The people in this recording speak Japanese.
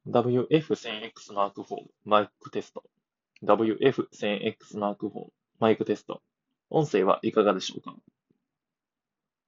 WF1000X マーク4マイクテスト。WF1000X マーク4マイクテスト。音声はいかがでしょうか？